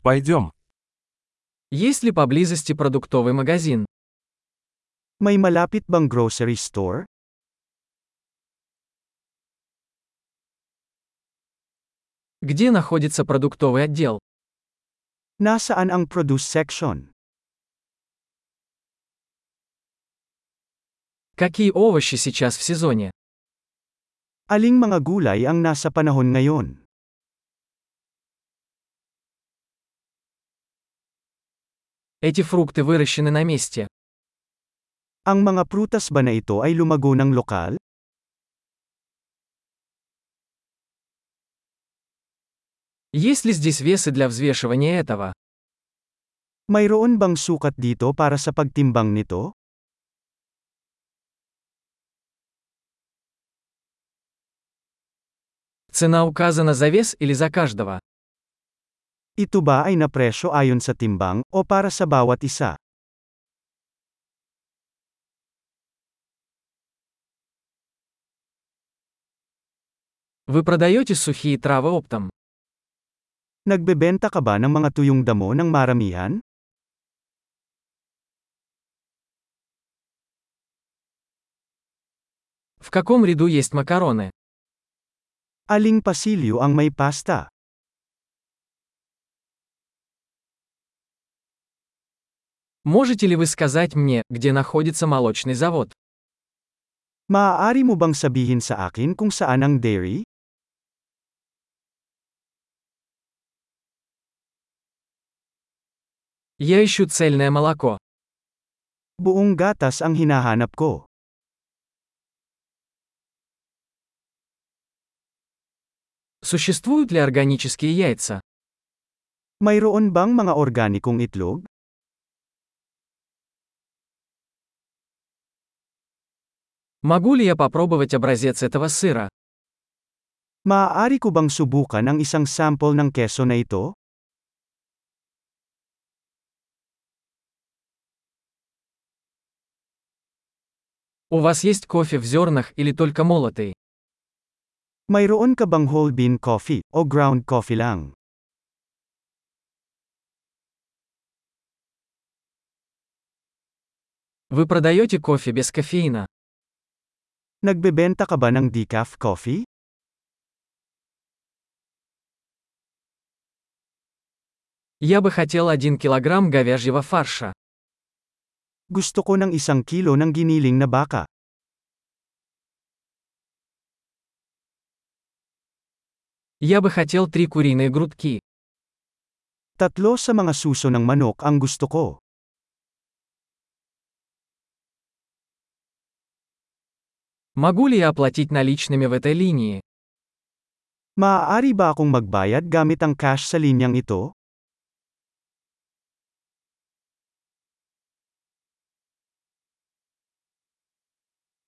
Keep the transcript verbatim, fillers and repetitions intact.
Пойдем. Есть ли поблизости продуктовый магазин? May malapit bang grocery store? Где находится продуктовый отдел? Nasaan ang produce section? Какие овощи сейчас в сезоне? Aling mga gulay ang nasa panahon ngayon? Эти фрукты выращены на месте. Ang mga prutas ba na ito ay lumago ng lokal? Есть ли здесь весы для взвешивания этого? Mayroon bang sukat dito para sa pagtimbang nito? Цена указана за вес или за каждого? Ito ba ay napresyo ayon sa timbang, o para sa bawat isa? Вы продаете сухие травы оптом? Nagbebenta ka ba ng mga tuyong damo ng maramihan? В каком ряду есть макароны? Aling pasilyo ang may pasta? Можете ли вы сказать мне, где находится молочный завод? Maaari mo bang sabihin sa akin kung saan ang dairy? Я ищу цельное молоко. Buong gatas ang hinahanap ko. Существуют ли органические яйца? Mayroon bang mga organikong itlog? Могу ли я попробовать образец этого сыра? Maaari ko bang subukan ang isang sample ng keso na ito? У вас есть кофе в зернах или только молотый? Mayroon ka bang whole bean coffee, o ground coffee lang? Вы продаете кофе без кофеина? Nagbebenta ka ba ng decaf coffee? Я бы хотел один килограмм говяжьего фарша. Gusto ko ng isang kilo ng giniling na baka. Я бы хотел три куриные грудки. Tatlo sa mga suso ng manok ang gusto ko. Могу ли я оплатить наличными в этой линии? Maaari ba akong magbayad gamit ang cash sa linyang ito?